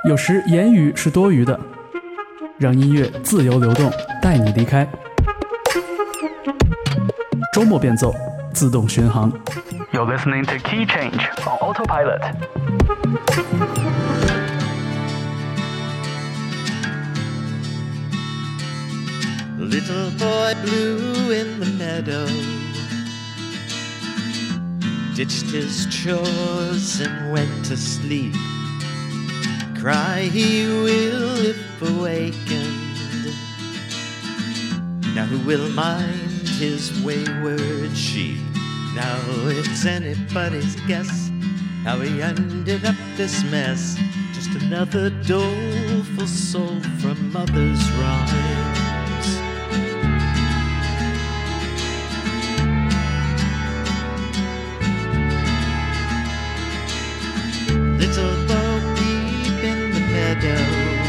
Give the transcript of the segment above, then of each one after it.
有时言语是多余的，让音乐自由流动，带你离开。周末变奏，自动巡航。You're listening to Key Change on Autopilot. Little boy blue in the meadow ditched his chores and went to sleep. Cry he will if awakened. Now who will mind his wayward sheep? Now it's anybody's guess how he ended up this mess. Just another doleful soul from mother's rhymes. Little Bo Peep in the meadow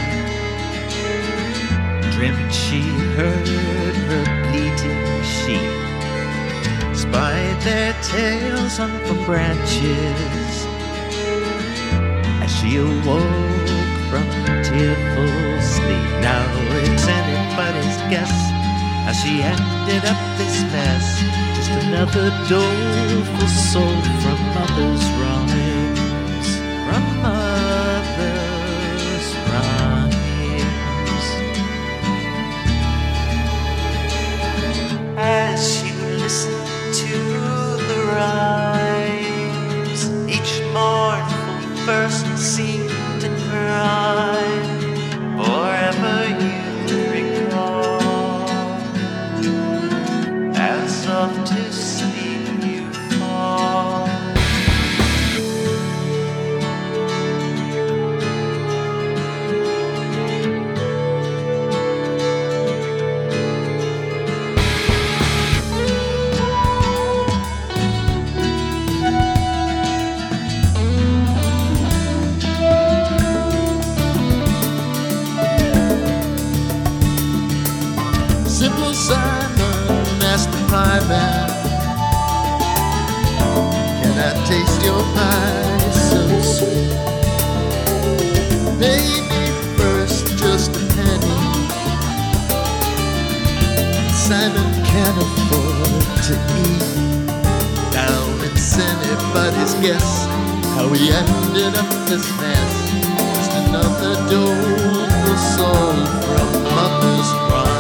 dreamt she heard her bleating sheep. Spied their tails hung from branches as she awoke from tearful sleep. Now it's anybody's guess how she ended up this mess. Just another doleful soul from mother's rhymes. From mother's rhymes. As she listened to the rhymes, each mournful verse seemed to cry, forever you recall, as off to sleep you fall. Simple Simon asked the pie man, can I taste your pie so sweet? Pay me first just a penny. Simon can't afford to eat. Now it's anybody's guess how he ended up this mess. Just another doleful soul from mother's rhyme.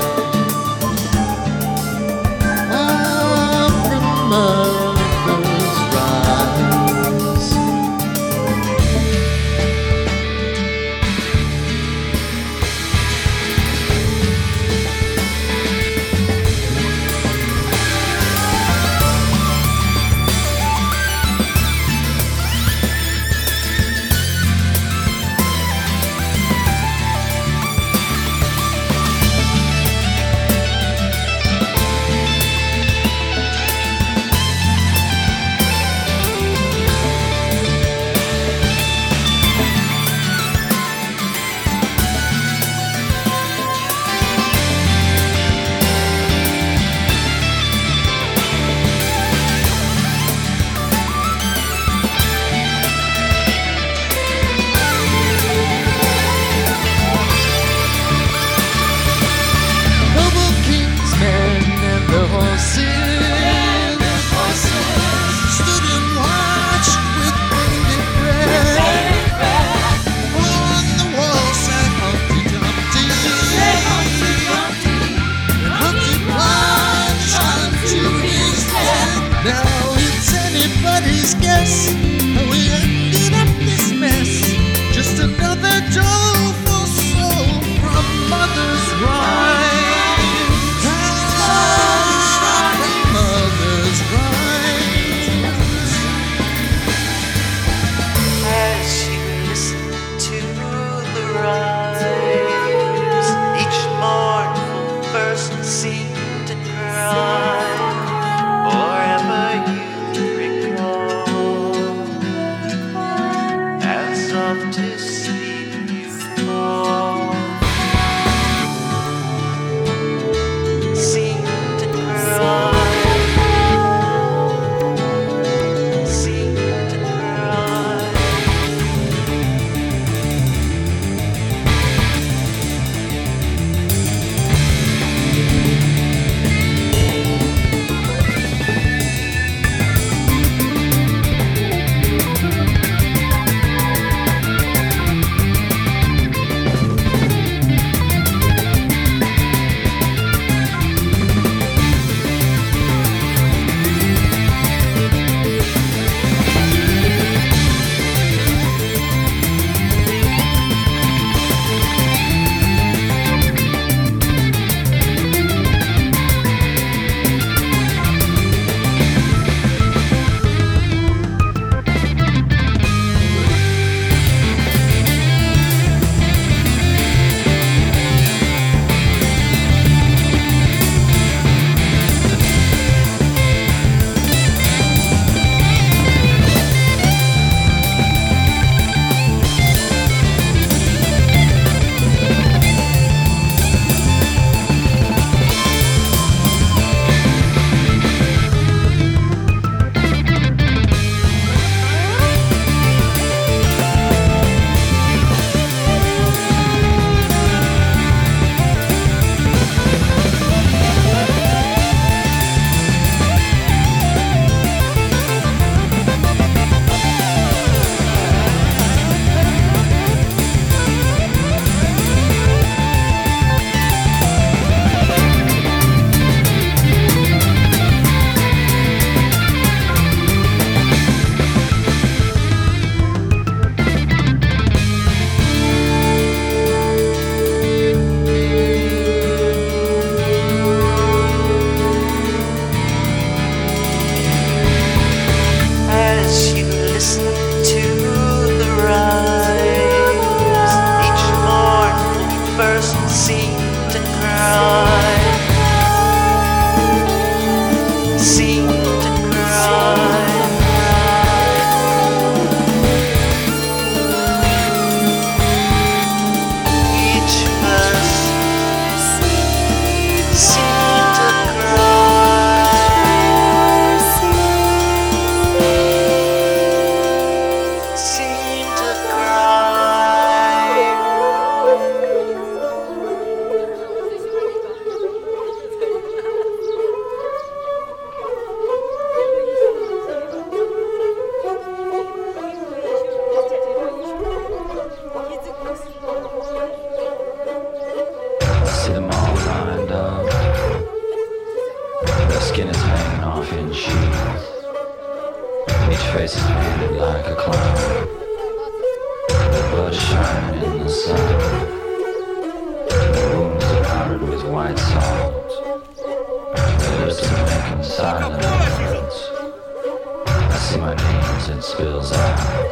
Mother's rhymes. face is painted like a clown. The blood shining in the sun. The wounds are powdered with white salt. The lips are making silent words. I see my name as it spills out.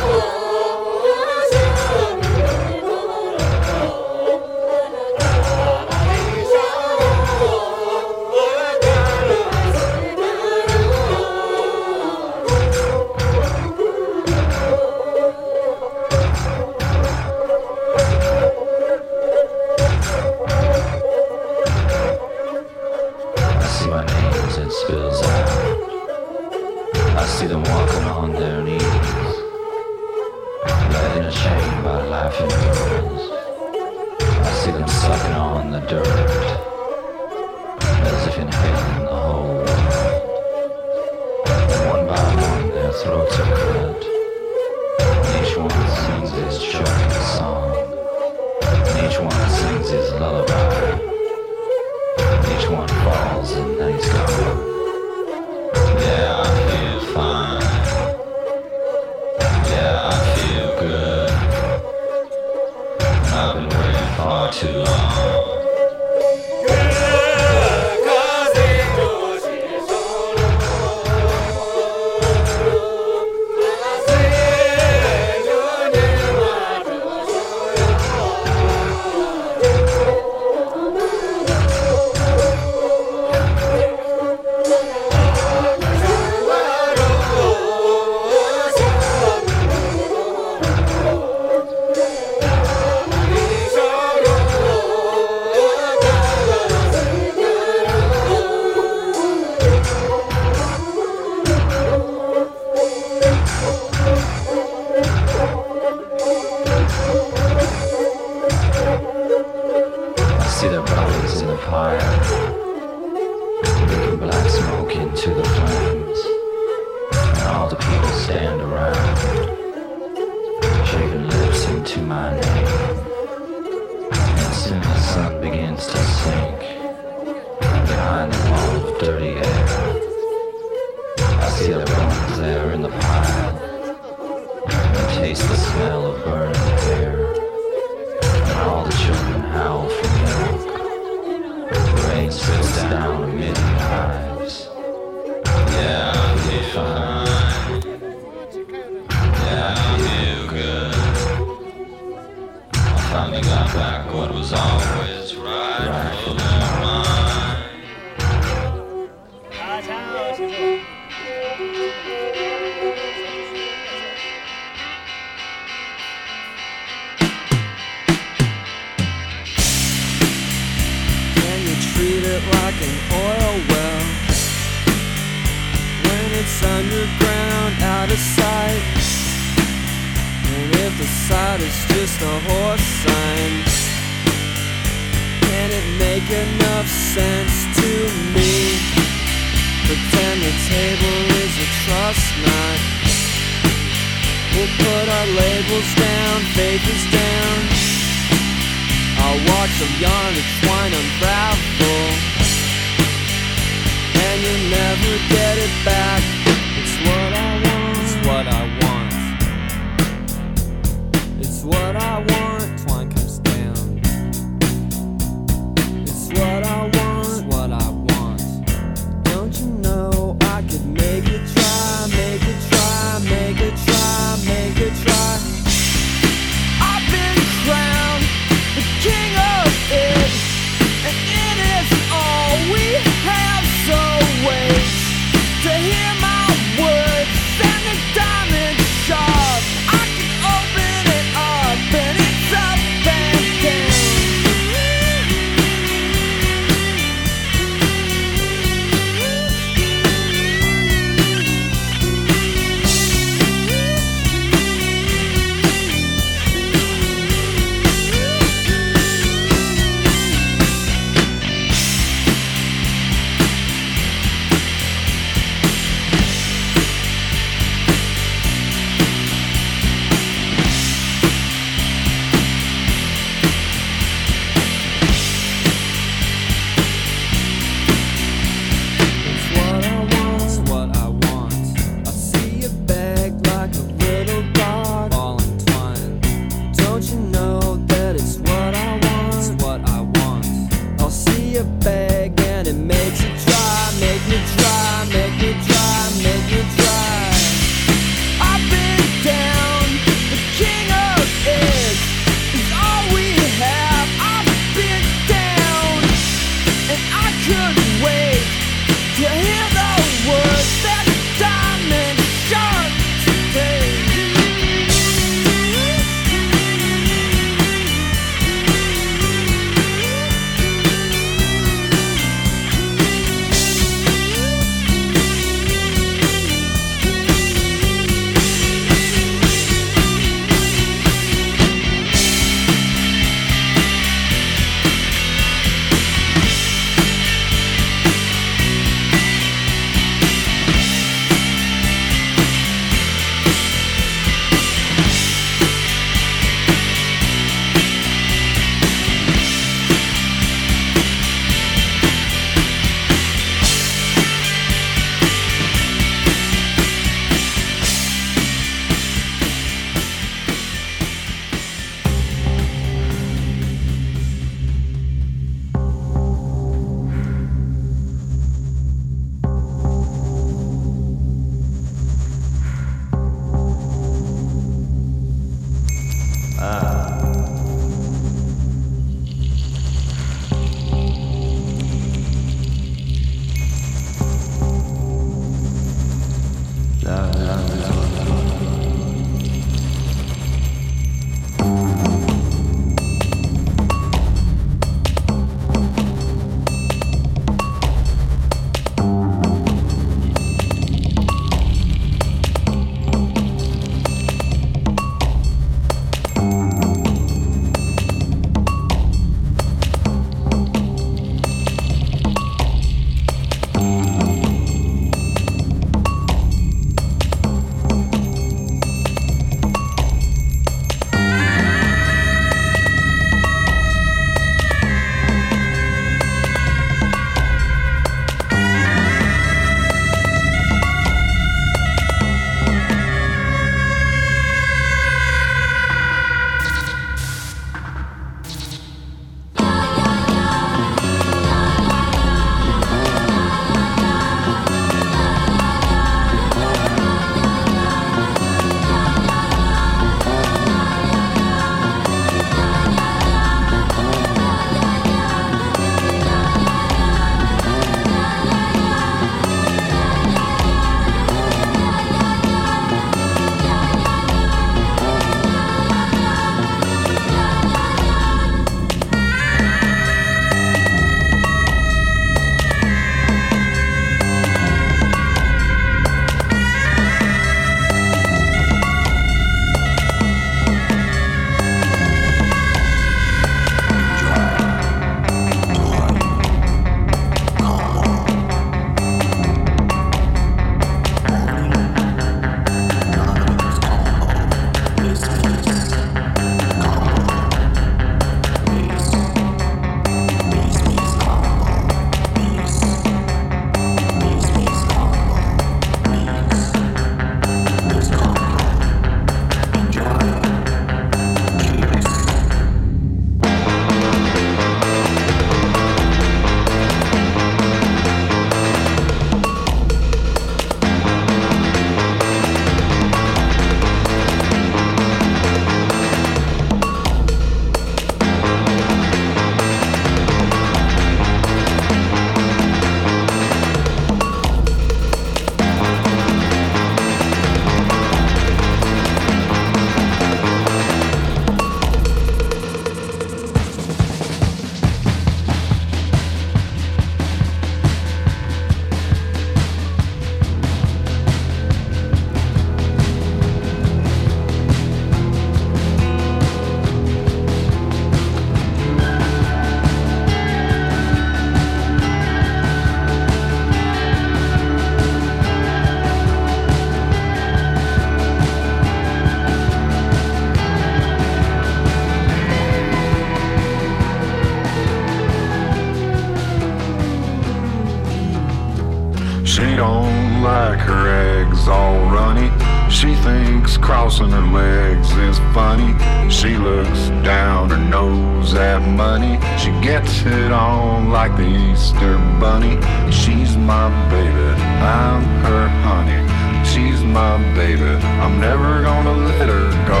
She don't like her eggs all runny. She thinks crossing her legs is funny. She looks down her nose at money. She gets it on like the Easter bunny. She's my baby, I'm her honey. She's my baby, I'm never gonna let her go.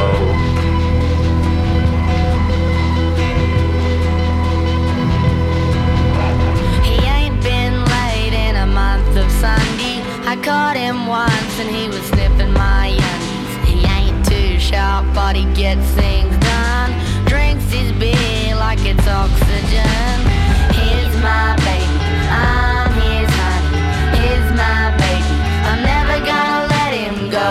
Sunday, I caught him once and he was sniffing my undies. He ain't too sharp, but he gets things done. Drinks his beer like it's oxygen. Here's my baby, I'm his honey. Here's my baby, I'm never gonna let him go.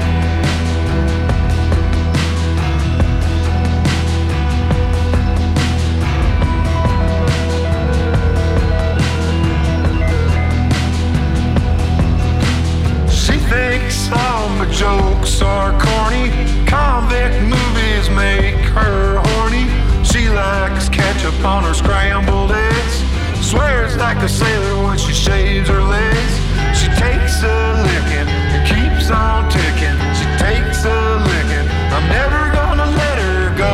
Thinks all my jokes are corny. Convict movies make her horny. She likes ketchup on her scrambled eggs. Swears like a sailor when she shaves her legs. She takes a licking and keeps on ticking. She takes a licking, I'm never gonna let her go.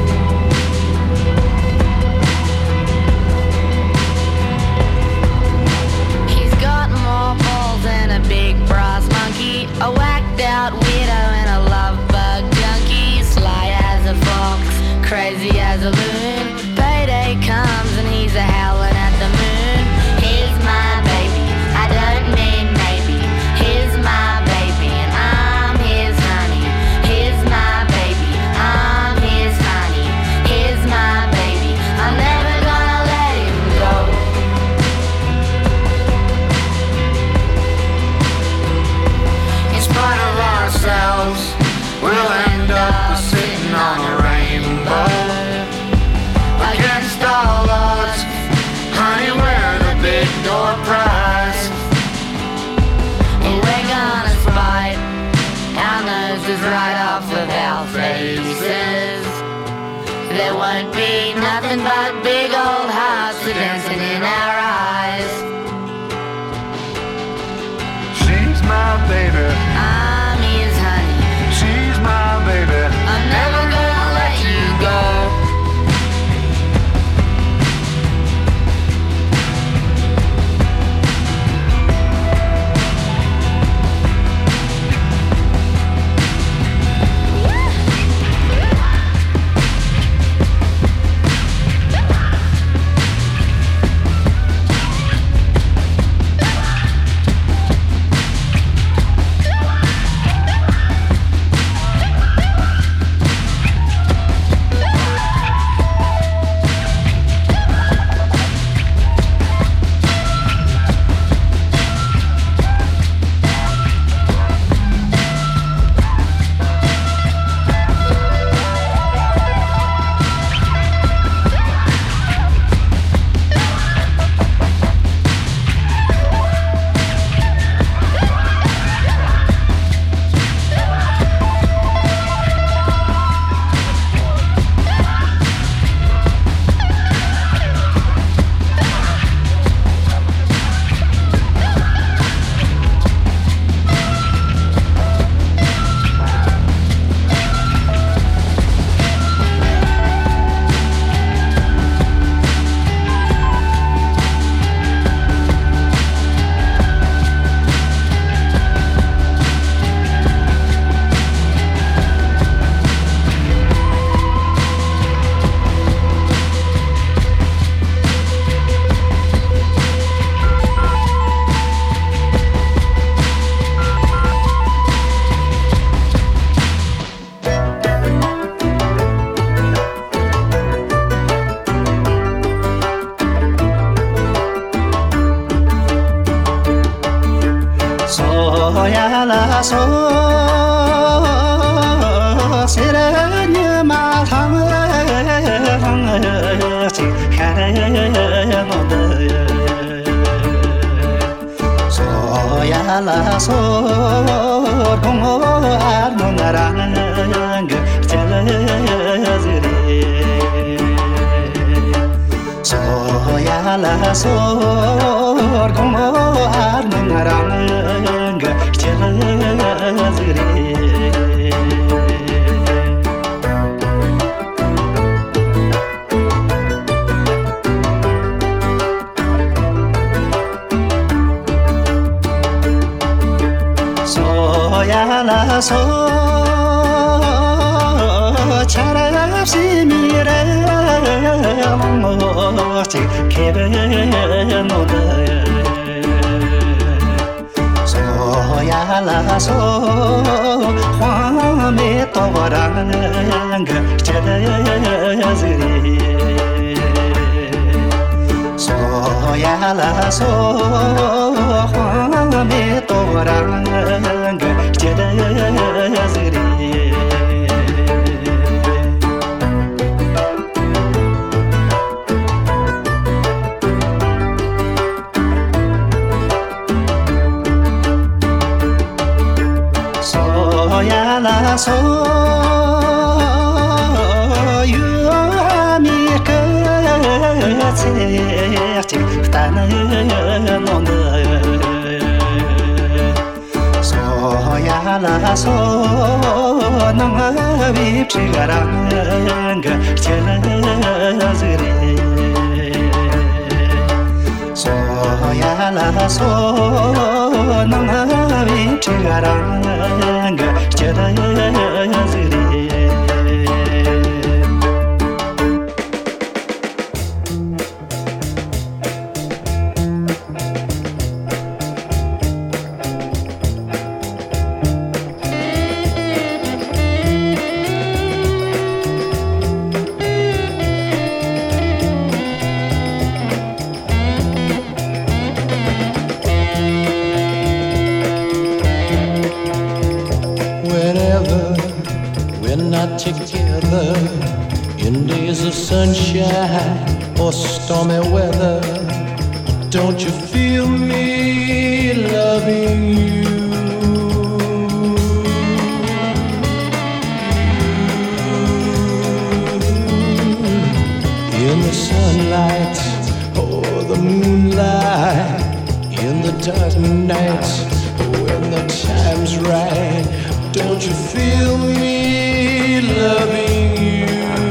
He's got more balls than a big brass monkey, a whacked out widow and a love bug junkie, sly as a fox, crazy as a loon. Payday comes and he's a howling at the moon. Here's my baby, I don't mean maybe. Here's my baby and I'm his honey. Here's my baby, I'm his honey. Here's my baby, I'm never gonna let him go. Ourselves, we'll end up sitting on a rainbow. Against all odds, honey, we're the big door prize. And we're gonna spite our noses right off of our faces. There won't be nothing but big old hearts dancing in our eyes. She's my baby, I'm his honey. she's my baby, I'm never gonna let you go. so siranya ma thang chi kha mo de so ya la so dong ar no narang chale zire so ya la so Together in days of sunshine or stormy weather, don't you feel me loving you? In the sunlight or the moonlight, in the dark night when the time's right, don't you feel me loving you?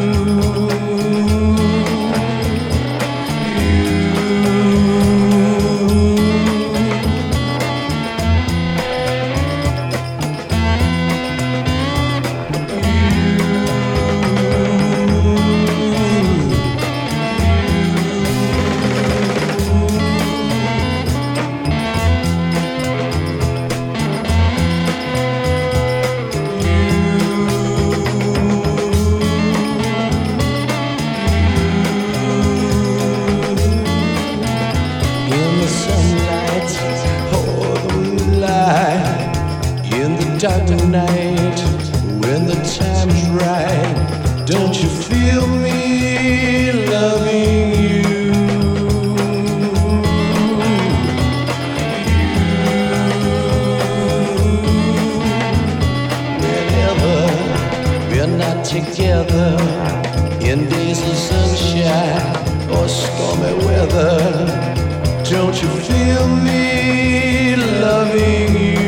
Dark night, when the time's right, don't you feel me loving you? Whenever we're not together, in days of sunshine or stormy weather, don't you feel me loving you?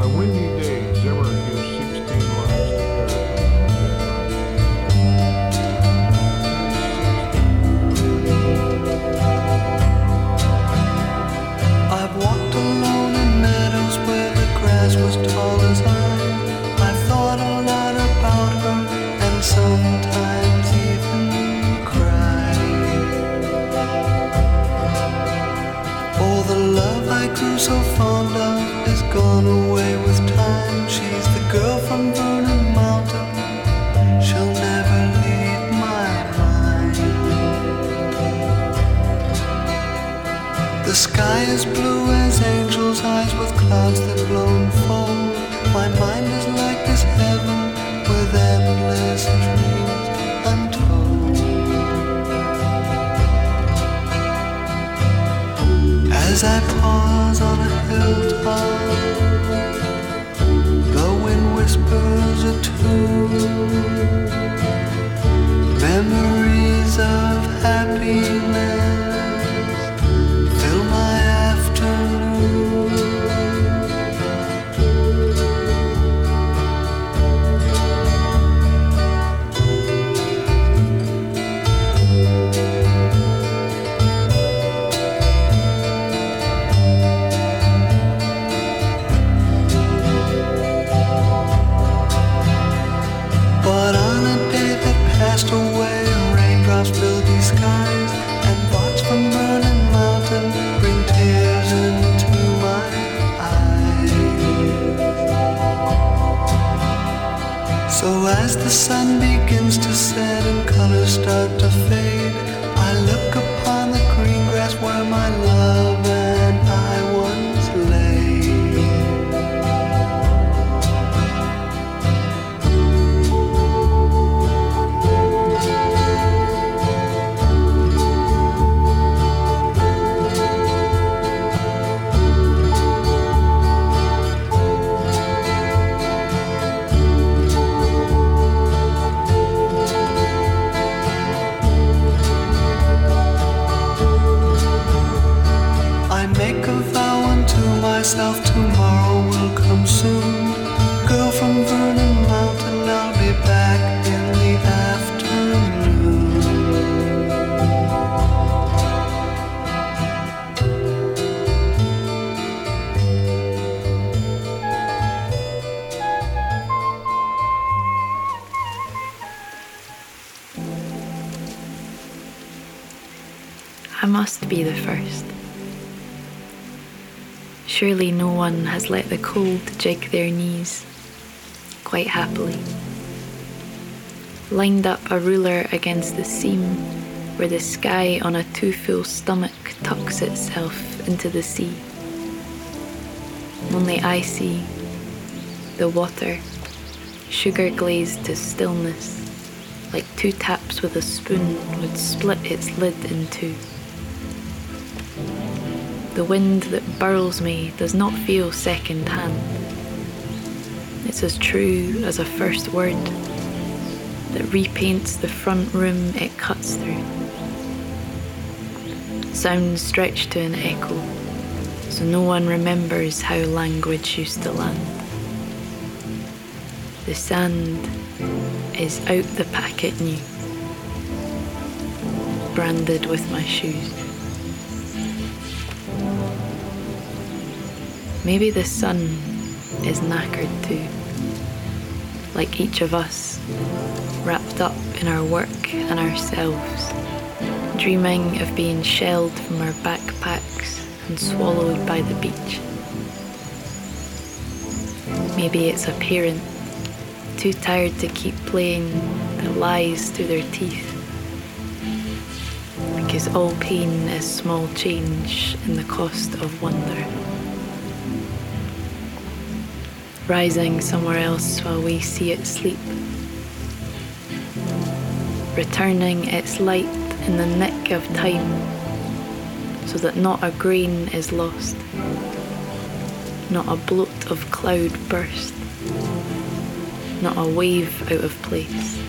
windy days, there were 16 miles to I've walked alone in meadows where the grass was tall as I've thought a lot about her and sometimes even cried. Oh, the love I grew so fond of is gone away with time. She's the girl from Vernon Mountain, she'll never leave my mind. The sky is blue as angels' eyes with clouds that blow and fold. My mind is like this heaven with endless dreams untold. As I pause on a hilltop, the wind whispers a tune. Memories of happiness fill my afternoon. But on a day that passed away, raindrops filled these skies, and thoughts from Vernon Mountain bring tears into my eyes. So as the sun begins to set and colors start to fade, I look upon the green grass where my love and I once lay. I make a vow unto myself, tomorrow will come soon. Girl from Vernon Mountain, I'll be back in the afternoon. I must be the first. Surely no one has let the cold jig their knees quite happily. Lined up a ruler against the seam where the sky on a too full stomach tucks itself into the sea. Only I see the water, sugar glazed to stillness, like two taps with a spoon would split its lid in two. The wind that burls me does not feel second hand. It's as true as a first word that repaints the front room it cuts through. Sounds stretch to an echo, so no one remembers how language used to land. The sand is out the packet new, branded with my shoes. Maybe the sun is knackered too, like each of us, wrapped up in our work and ourselves, dreaming of being shelled from our backpacks and swallowed by the beach. Maybe it's a parent, too tired to keep playing, that lies through their teeth, because all pain is small change in the cost of wonder. Rising somewhere else while we see it sleep, returning its light in the nick of time, so that not a grain is lost, not a bloat of cloud burst, not a wave out of place.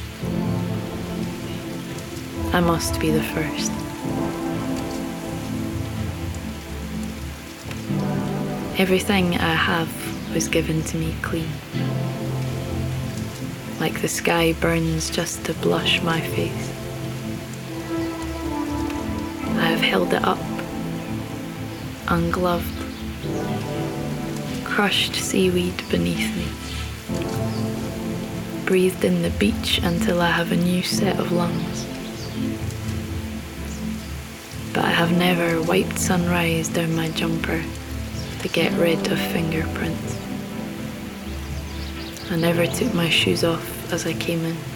I must be the first. Everything I have was given to me clean. Like the sky burns just to blush my face. I have held it up, ungloved, crushed seaweed beneath me, breathed in the beach until I have a new set of lungs. But I have never wiped sunrise down my jumper to get rid of fingerprints. I never took my shoes off as I came in.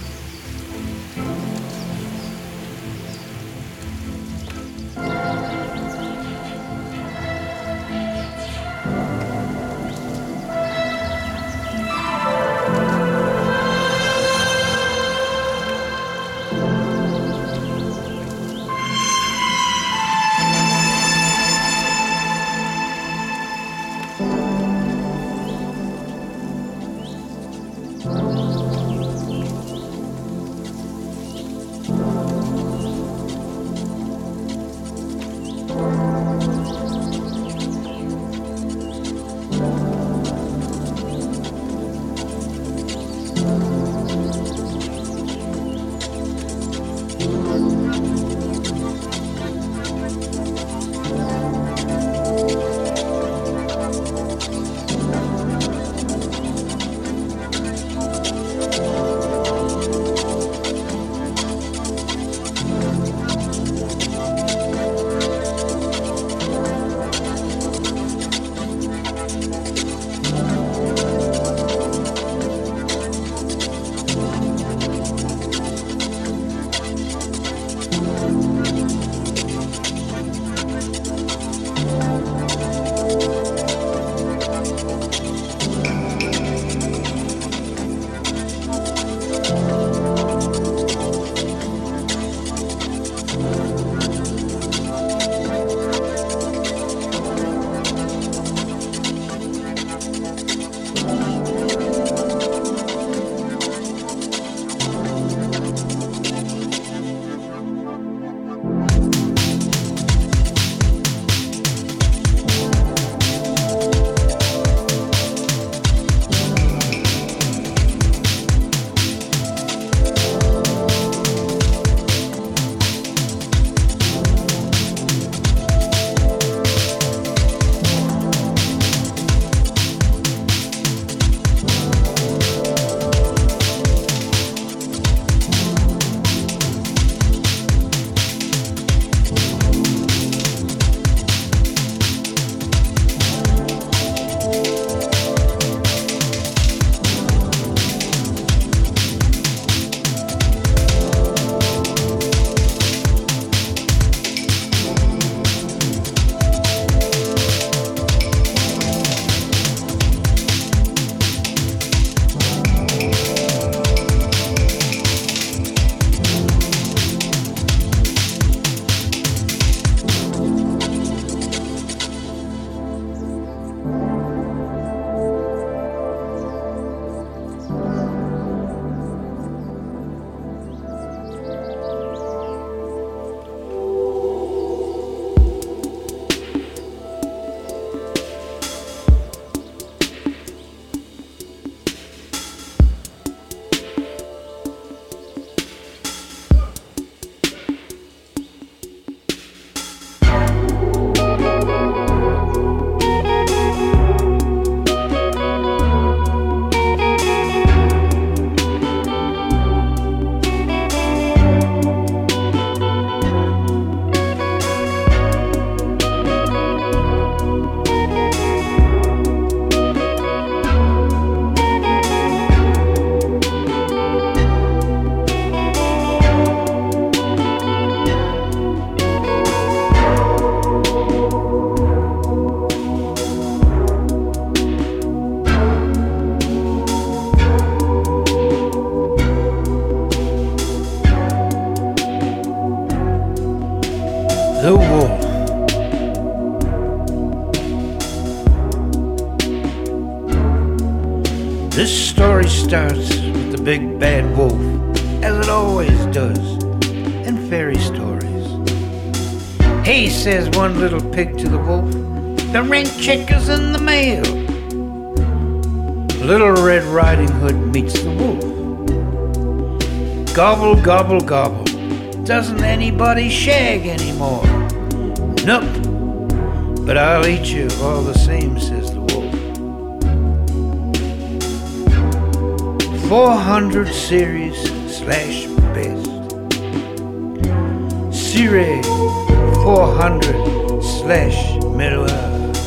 The Wolf. This story starts with the big bad wolf, as it always does in fairy stories. Hey, says one little pig to the wolf, The rent check is in the mail. Little Red Riding Hood meets the wolf. Gobble, gobble, gobble. Doesn't anybody shag anymore? Nope. But I'll eat you all the same, says the wolf. 400 series slash best. Series 400 slash middleware.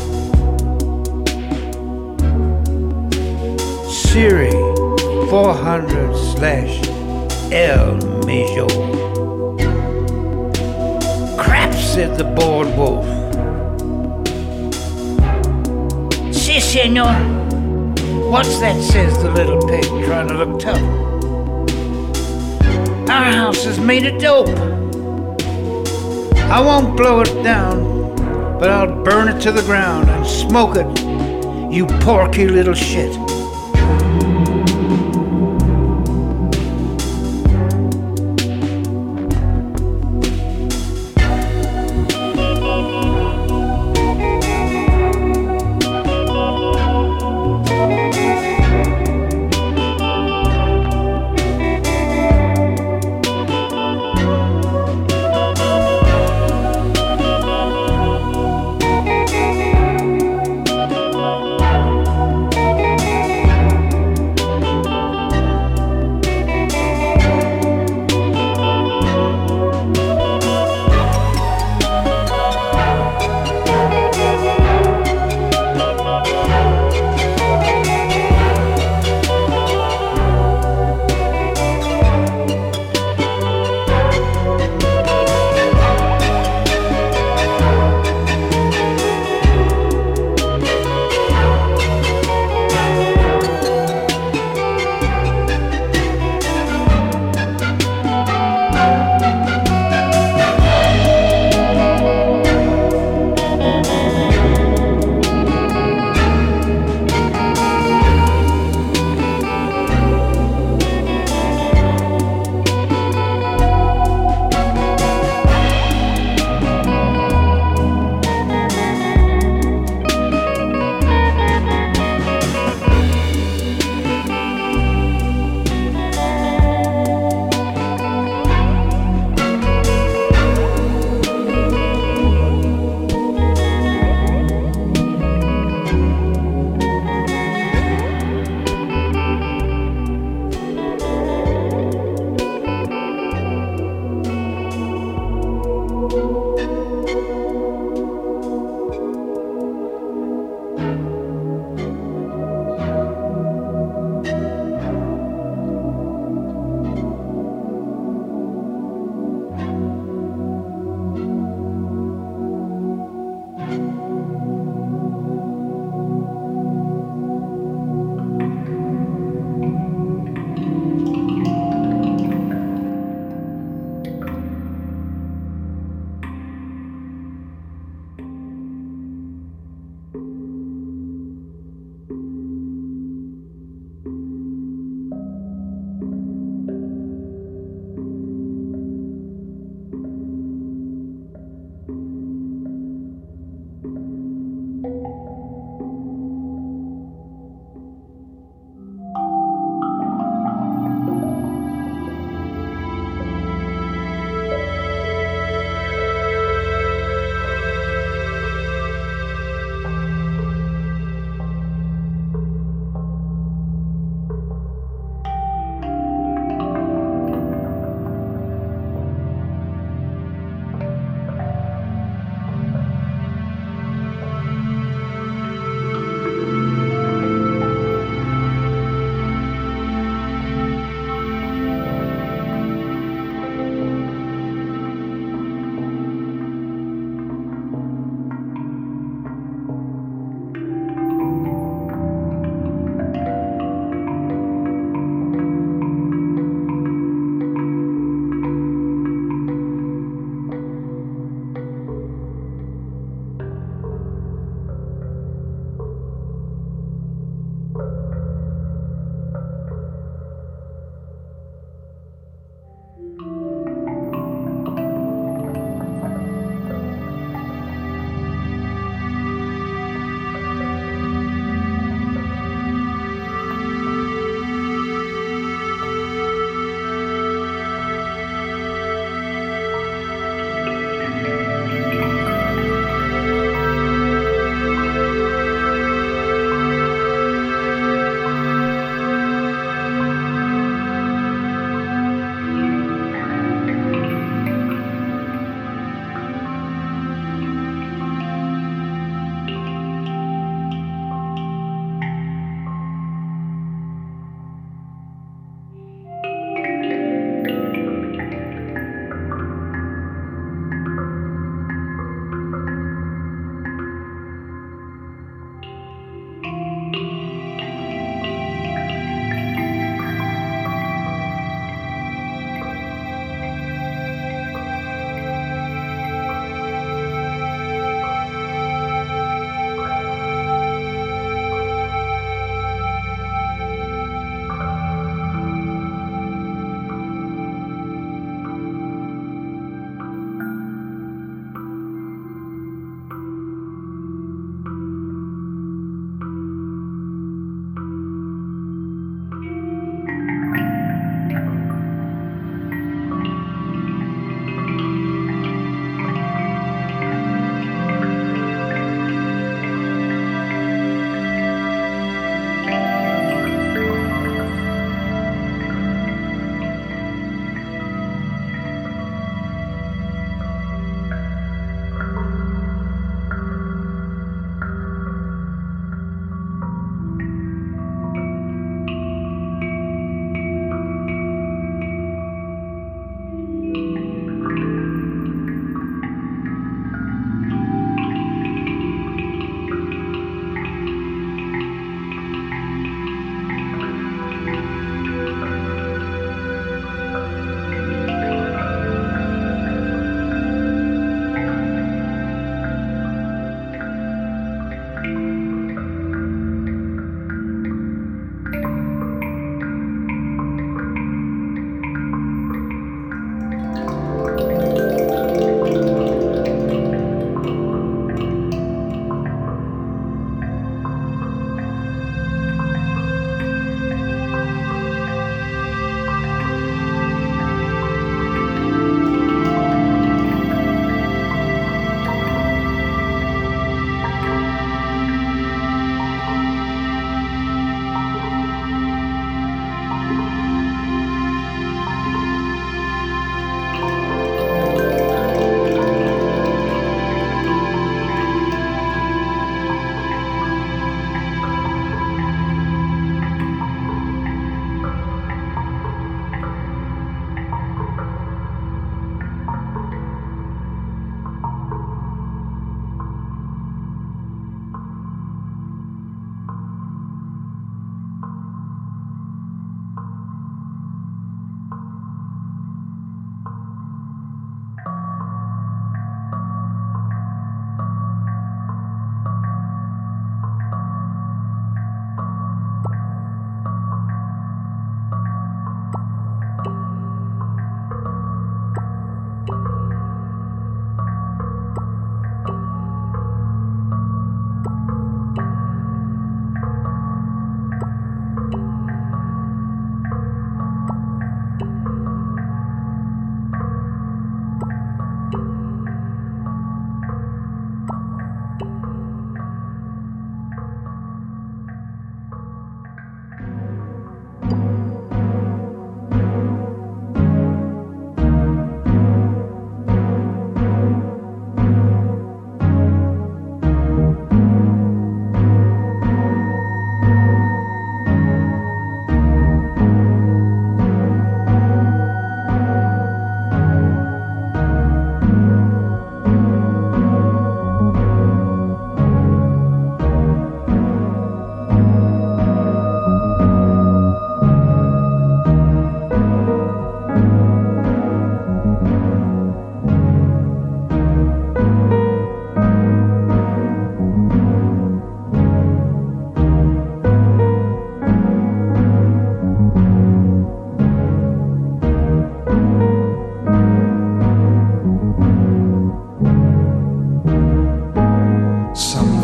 Series 400 slash El Major. Crap, said the bored wolf. Si, senor. What's that, says the little pig, trying to look tough. Our house is made of dope. I won't blow it down, but I'll burn it to the ground and smoke it, you porky little shit.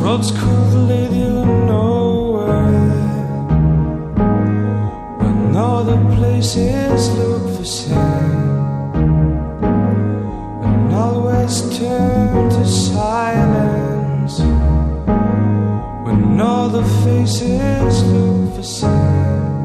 roads could lead you nowhere, when all the places look the same, and always turn to silence, when all the faces look the same.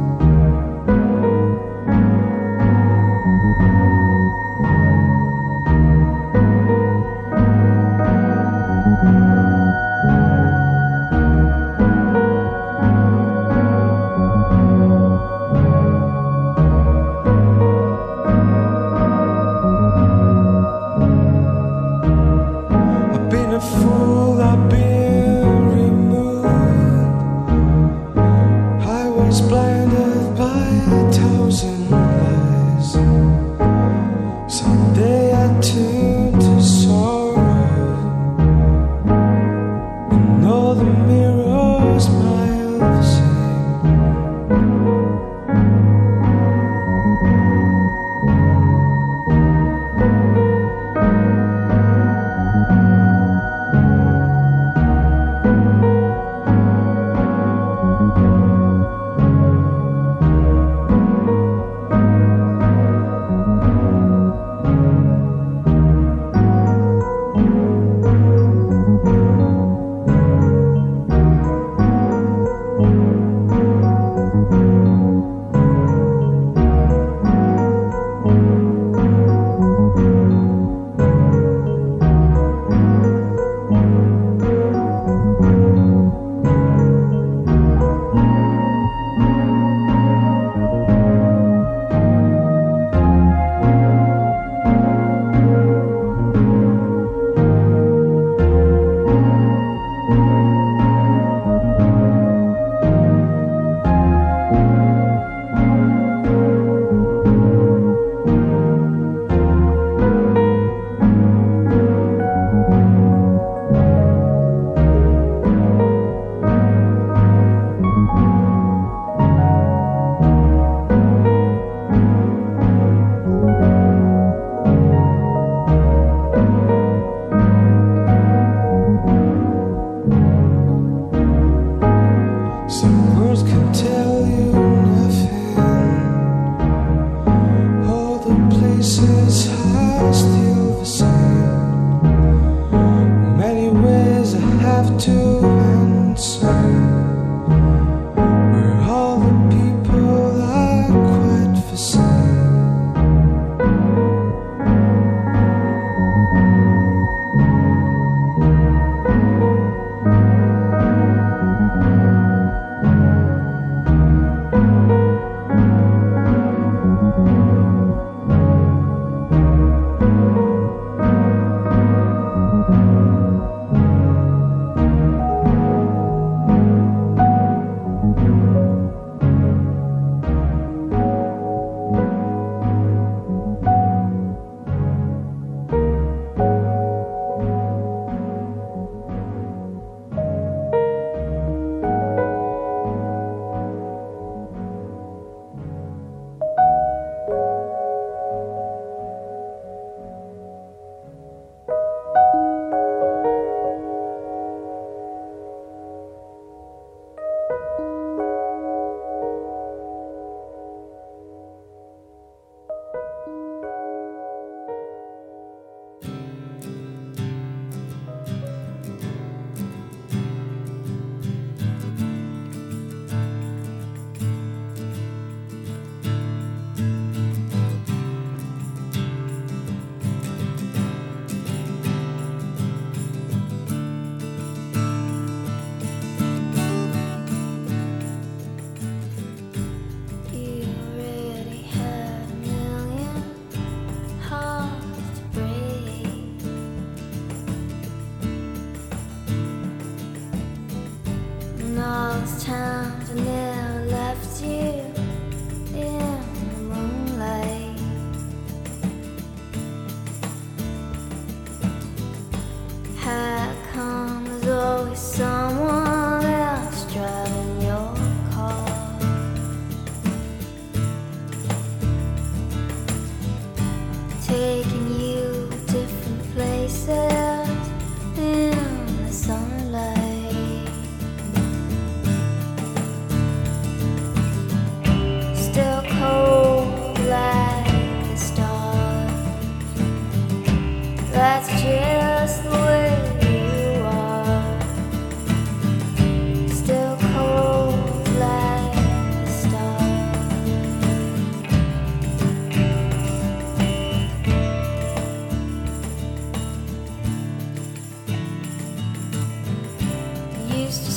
Taking you different places in the sunlight.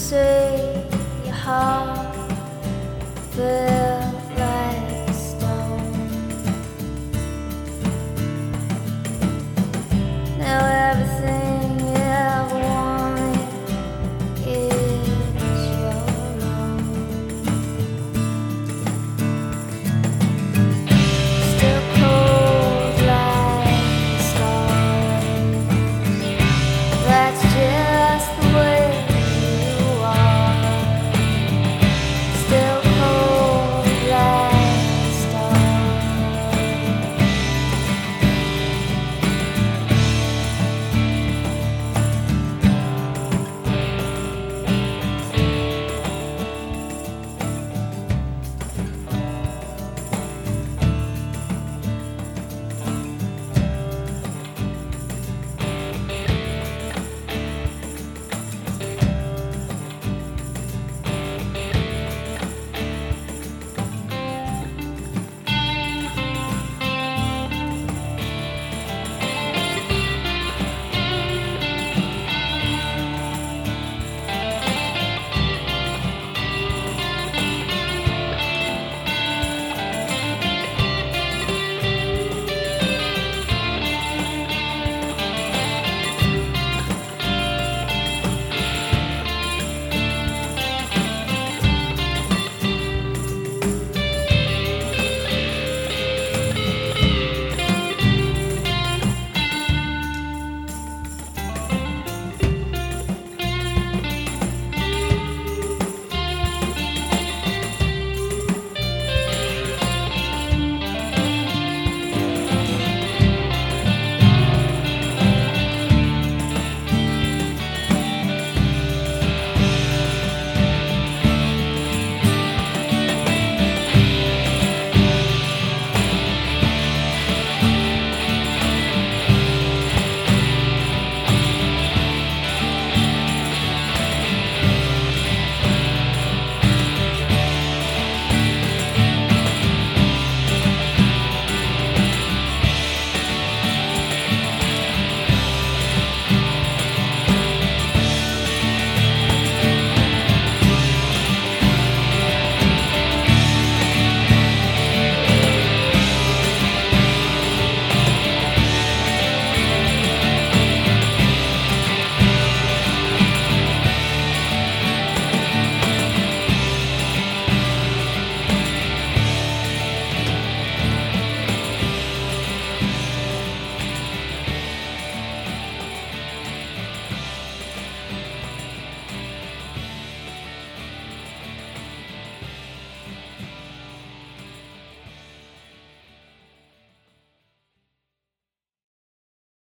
岁以后。